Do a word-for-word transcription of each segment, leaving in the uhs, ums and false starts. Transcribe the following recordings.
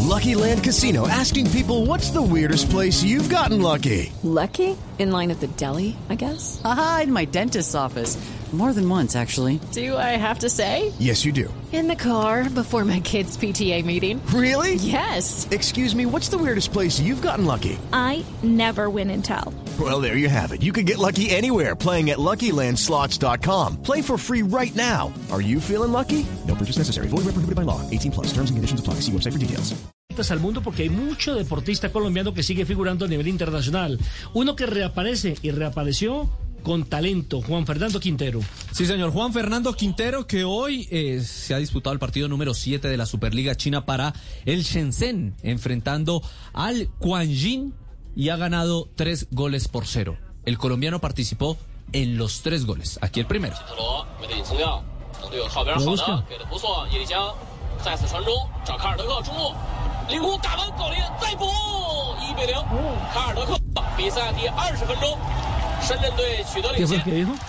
Lucky Land Casino, asking people, what's the weirdest place you've gotten lucky? Lucky? In line at the deli, I guess? Aha, in my dentist's office. More than once, actually. Do I have to say? Yes, you do. In the car before my kids' P T A meeting. Really? Yes. Excuse me, what's the weirdest place you've gotten lucky? I never win and tell. Well, there you have it. You can get lucky anywhere, playing at Lucky Land Slots dot com. Play for free right now. Are you feeling lucky? No purchase necessary. Void where prohibited by law. eighteen plus. Terms and conditions apply. See website for details. Al mundo, porque hay mucho deportista colombiano que sigue figurando a nivel internacional. Uno que reaparece y reapareció con talento, Juan Fernando Quintero. Sí, señor, Juan Fernando Quintero, que hoy eh, se ha disputado el partido número siete de la Superliga China para el Shenzhen, enfrentando al Quanjin, y ha ganado tres goles por cero. El colombiano participó en los tres goles. Aquí el primero. ¿Qué fue el que dijo?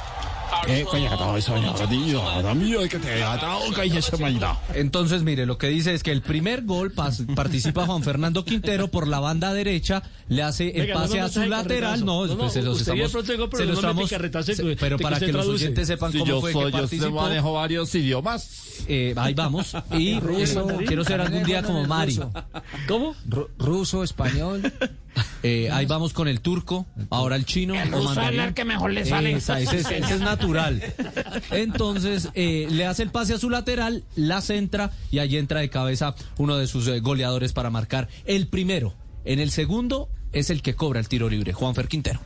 Entonces, mire, lo que dice es que el primer gol pas, participa Juan Fernando Quintero por la banda derecha, le hace el Venga, pase no, no, a su no, lateral, no, no, pues no, se los usted estamos, pronto digo, pero se los no me estamos, picarretazo, se, de, pero de para que que los traduce. oyentes sepan Si cómo yo fue soy, que yo participó. se manejo varios idiomas. Eh, ahí vamos, y eh, quiero ser algún día como Mari. ¿Cómo? Ru- ruso, español. Eh, ahí vamos con el turco, ahora el chino. El ruso es el que mejor le sale. Esa, ese, es, ese es natural. Entonces, eh, le hace el pase a su lateral, la centra, y allí entra de cabeza uno de sus eh, goleadores para marcar el primero. En el segundo es el que cobra el tiro libre, Juanfer Quintero.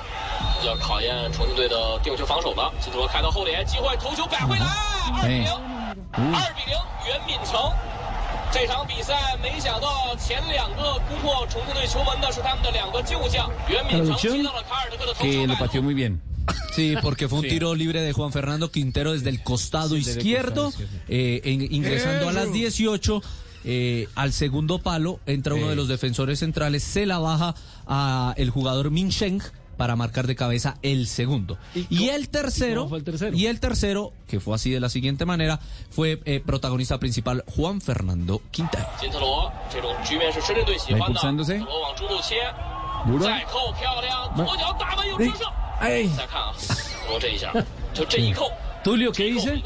Que lo pateó muy bien. Sí, porque fue un Sí. tiro libre de Juan Fernando Quintero desde el costado Sí, desde el izquierdo, costado izquierdo. eh, en- ingresando a las dieciocho. Eh, al segundo palo entra uno Sí. de los defensores centrales, se la baja a el jugador Min Sheng para marcar de cabeza el segundo. ¿Y Y, cómo- el tercero, y cómo fue el tercero? y el tercero, que fue así de la siguiente manera, fue eh, protagonista principal Juan Fernando Quintero. Va impulsándose. Duro. Ay. Tulio, ¿qué dice?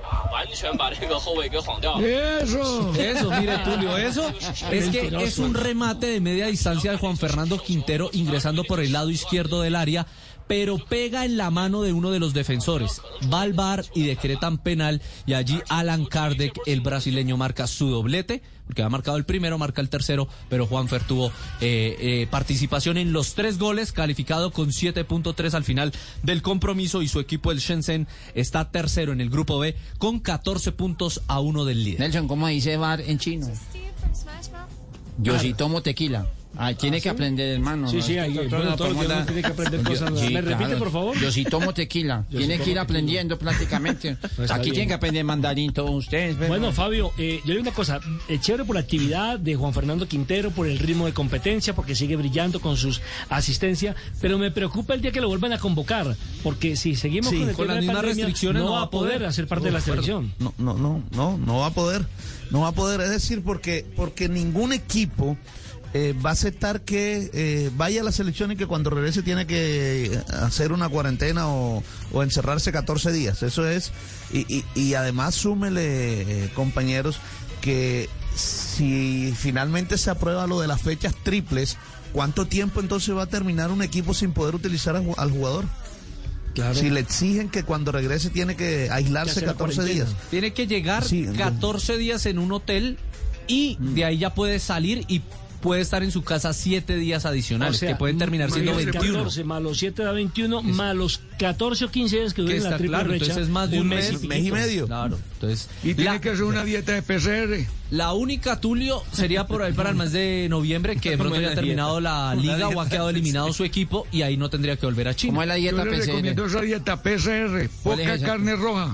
Eso. Eso, mire, Tulio, eso es que es un remate de media distancia de Juan Fernando Quintero ingresando por el lado izquierdo del área, pero pega en la mano de uno de los defensores. Va al V A R y decretan penal, y allí Alan Kardec, el brasileño, marca su doblete, porque ha marcado el primero, marca el tercero, pero Juanfer tuvo eh, eh, participación en los tres goles, calificado con siete punto tres al final del compromiso, y su equipo, el Shenzhen, está tercero en el grupo B con catorce puntos a uno del líder. Nelson, ¿cómo dice bar en chino? Yo sí tomo tequila. Ay, tiene que aprender, hermano. Sí, sí, ahí, bueno, todos los días uno tiene que aprender cosas. ¿Me repite, por favor? Yo sí tomo tequila. Yo Tiene sí que ir tomo aprendiendo prácticamente. está Aquí bien. tienen que aprender mandarín todos ustedes. ¿verdad? Bueno, Fabio, eh, yo le digo una cosa, eh, chévere por la actividad de Juan Fernando Quintero, por el ritmo de competencia, porque sigue brillando con sus asistencias, pero me preocupa el día que lo vuelvan a convocar, porque si seguimos Sí, con, el con tema las de mismas pandemia, restricciones no va a poder hacer parte de la selección. No, no, no, no, no va a poder, no va a poder, es decir, porque, porque ningún equipo eh, va a aceptar que eh, vaya a la selección y que cuando regrese tiene que hacer una cuarentena o, o encerrarse catorce días. Eso es, y, y, y además súmele, eh, compañeros, que si finalmente se aprueba lo de las fechas triples, ¿cuánto tiempo entonces va a terminar un equipo sin poder utilizar a, al jugador? Claro. Si le exigen que cuando regrese tiene que aislarse Que hacer la catorce cuarentena. días. Tiene que llegar Sí, catorce días en un hotel, y de ahí ya puede salir y puede estar en su casa siete días adicionales, O sea, que pueden terminar siendo más veintiuno. catorce más los siete da veintiuno, más los catorce o quince días que Que duren está la triple claro, brecha, entonces es más de un mes, piquito. mes y medio. Claro, entonces Y tiene la, que hacer una dieta de P C R. la única, Tulio, sería por ahí para el mes de noviembre, que de pronto Buena haya terminado la liga o ha quedado eliminado su equipo, y ahí no tendría que volver a China. ¿Cómo es la Yo dieta le P C R? recomiendo esa dieta P C R. ¿Cuál es Poca esa? carne roja.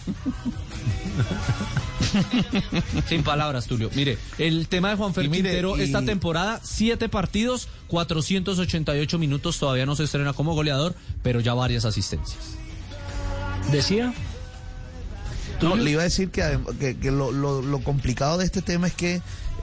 Sin palabras, Tulio. Mire, el tema de Juanfer Y mire, Quintero y- esta temporada, siete partidos, cuatrocientos ochenta y ocho minutos, todavía no se estrena como goleador, pero ya varias asistencias. Decía, No, le iba a decir que, adem- que, que lo, lo, lo complicado de este tema es que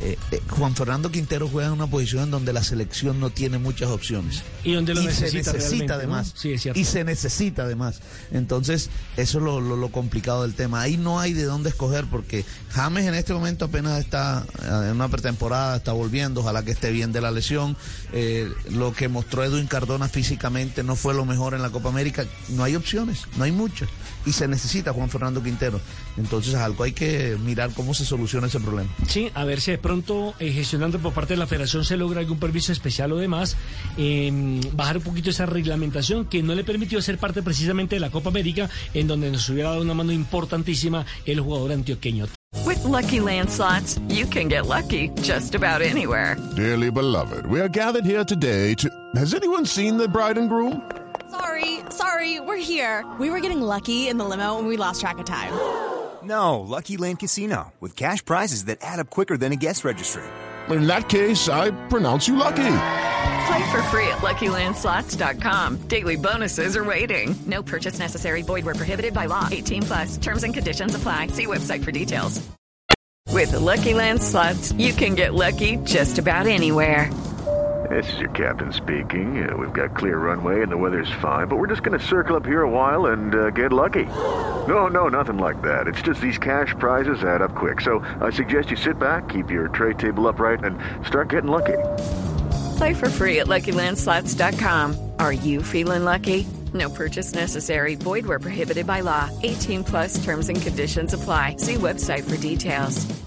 eh, eh, Juan Fernando Quintero juega en una posición en donde la selección no tiene muchas opciones. Y donde lo y necesita, se necesita realmente, además. ¿no? Sí, es cierto. Y se necesita además. Entonces, eso es lo, lo, lo complicado del tema. Ahí no hay de dónde escoger porque James en este momento apenas está en una pretemporada, está volviendo, ojalá que esté bien de la lesión. Eh, lo que mostró Edwin Cardona físicamente no fue lo mejor en la Copa América. No hay opciones, no hay muchas. Y se necesita Juan Fernando Quintero. Entonces, algo hay que mirar cómo se soluciona ese problema. Sí, a ver si de pronto eh, gestionando por parte de la Federación se logra algún permiso especial o demás, eh, bajar un poquito esa reglamentación que no le permitió ser parte precisamente de la Copa América, en donde nos hubiera dado una mano importantísima el jugador antioqueño. With Lucky Land Slots, you can get lucky just about anywhere. Dearly beloved, we are gathered here today to... Has anyone seen the bride and groom? Sorry, sorry, we're here. We were getting lucky in the limo and we lost track of time. No, Lucky Land Casino, with cash prizes that add up quicker than a guest registry. In that case, I pronounce you lucky. Play for free at Lucky Land Slots dot com. Daily bonuses are waiting. No purchase necessary. Void where prohibited by law. eighteen plus. Terms and conditions apply. See website for details. With Lucky Land Slots, you can get lucky just about anywhere. This is your captain speaking. Uh, we've got clear runway and the weather's fine, but we're just going to circle up here a while and uh, get lucky. No, no, nothing like that. It's just these cash prizes add up quick. So I suggest you sit back, keep your tray table upright, and start getting lucky. Play for free at Lucky Land Slots dot com. Are you feeling lucky? No purchase necessary. Void where prohibited by law. eighteen plus terms and conditions apply. See website for details.